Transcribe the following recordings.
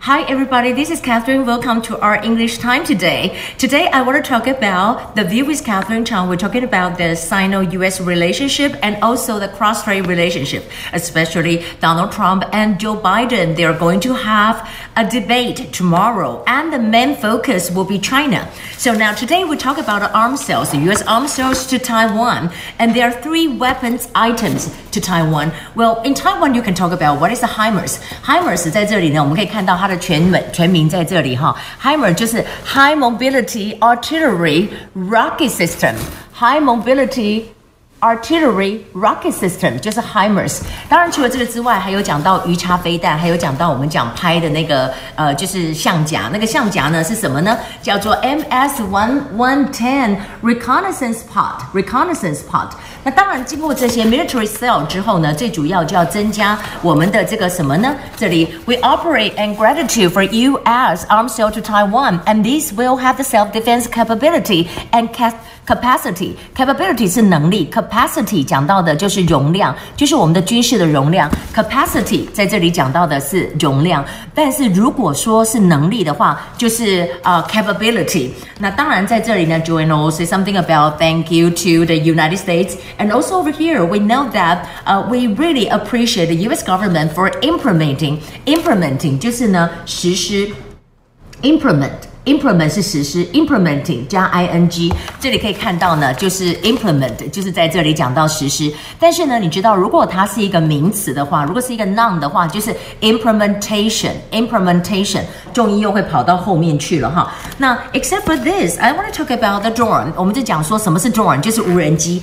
Hi everybody, this is Catherine. Welcome to our English time today. Today I want to talk about the View with Catherine Chang. We're talking about the Sino-US relationship and also the cross-strait relationship, especially Donald Trump and Joe Biden. They are going to have a debate tomorrow and the main focus will be China. So now today we talk about the arms sales, the US arms sales to Taiwan, and there are 3 weapons items to Taiwan. Well, in Taiwan you can talk about what is the HIMARS. HIMARS 在这里呢，我们可以看到它的全名在这里哈。HIMARS 就是 High Mobility Artillery Rocket System。High Mobility Artillery Rocket System 就是 HIMARS。当然除了这个之外，还有讲到鱼叉飞弹，还有讲到我们讲拍的那个就是象甲。那个象甲呢是什么呢？叫做 MS-1110 Reconnaissance Pod。Reconnaissance Pod。那当然经过这些 military sale 之后呢，最主要就要增加我们的这个什么呢？这里 We operate in gratitude for U.S. arms sale to Taiwan, and this will have the self-defense capability and capacity 是能力 capacity 讲到的就是容量，就是我们的军事的容量 capacity 在这里讲到的是容量，但是如果说是能力的话就是capability。 那当然在这里呢 Joanne will say something about thank you to the United States, and also over here we know that we really appreciate the US government for implementing 就是呢实施 implement 是实施 implementing 加 ing， 这里可以看到呢就是 implement 就是在这里讲到实施，但是呢你知道如果它是一个名词的话，如果是一个 noun 的话就是 implementation 重音又会跑到后面去了哈。那 except for this I want to talk about the drone。 我们就讲说什么是 drone， 就是无人机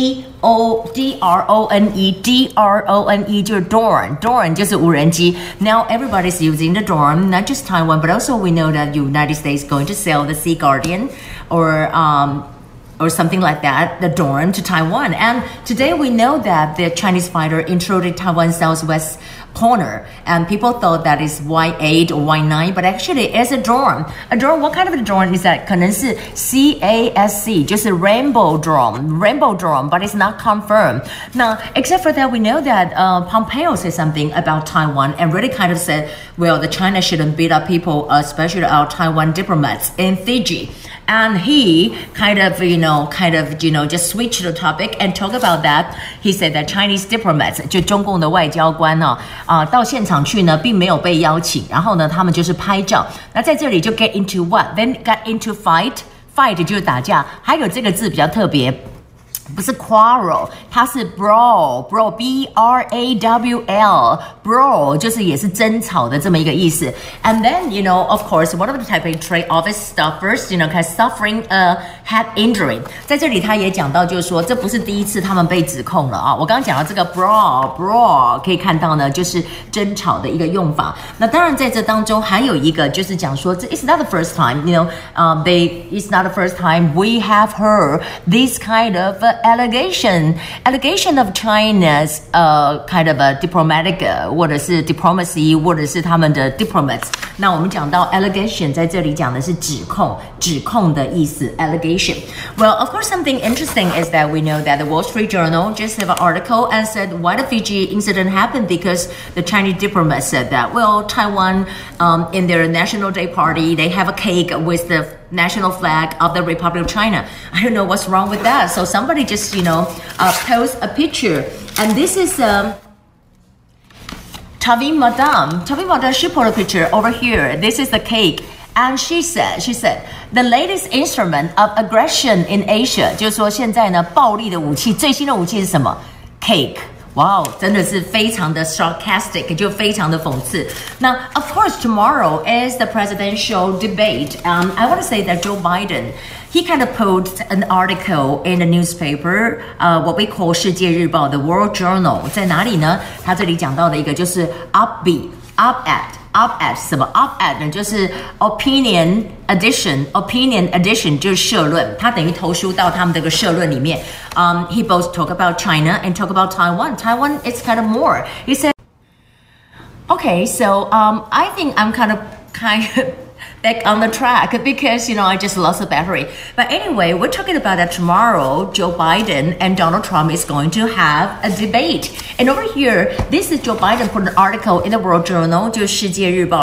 D-R-O-N-E 就是 drone 就是无人机。 Now everybody's using the drone, not just Taiwan, but also we know that United States is going to sell the Sea Guardian or something like that, the drone to Taiwan. And today we know that the Chinese fighter intruded Taiwan's southwest corner, and people thought that is Y8 or Y9, but actually it's a drone. A drone, what kind of a drone is that? 可能是 CASC, 就是 rainbow drone, but it's not confirmed. Now, except for that, we know that Pompeo said something about Taiwan and really kind of said, well, the China shouldn't beat up people, especially our Taiwan diplomats in Fiji. And he kind of, just switched the topic and talk about that. He said that Chinese diplomats, 就中共的外交官到现场去呢，并没有被邀请，然后呢，他们就是拍照。那在这里就 get into what? Then got into fight 就是打架。还有这个字比较特别。不是 quarrel， 它是 brawl B-R-A-W-L brawl 就是也是争吵的这么一个意思。And then of course one of the Taipei trade office staffers suffering a head injury。 在这里他也讲到就是说这不是第一次他们被指控了啊。我刚刚讲到这个 brawl 可以看到呢就是争吵的一个用法。那当然在这当中还有一个就是讲说这 it's not the first time it's not the first time we have heard this kind of allegation of China's kind of a diplomatic 或者是 diplomacy 或者是他们的 diplomats。 那我们讲到 allegation 在这里讲的是指控的意思 allegation。 Well, of course something interesting is that we know that the Wall Street Journal just have an article and said why the Fiji incident happened because the Chinese diplomats said that well Taiwan in their National Day party they have a cake with the national flag of the Republic of China. I don't know what's wrong with that. So somebody just, post a picture. And this is Tavi Madam, she put a picture over here. This is the cake. And she said, the latest instrument of aggression in Asia, 就是说现在呢暴力的武器，最新的武器是什么？ Cake。 哇，真的是非常的 sarcastic， 就非常的讽刺。那 of course tomorrow is the presidential debate. I want to say that Joe Biden, he kind of posted an article in the newspaper, what we call 世界日报 the World Journal. 在哪里呢？他这里讲到的一个就是 op-ed 什么 op-ed 呢？就是 opinion edition 就是社论，他等于投书到他们这个社论里面。He both talk about China and talk about Taiwan. Taiwan is kind of more. He said, okay, so I think I'm kind of back on the track because, I just lost the battery. But anyway, we're talking about that tomorrow, Joe Biden and Donald Trump is going to have a debate. And over here, this is Joe Biden put an article in the World Journal, 就是世界日报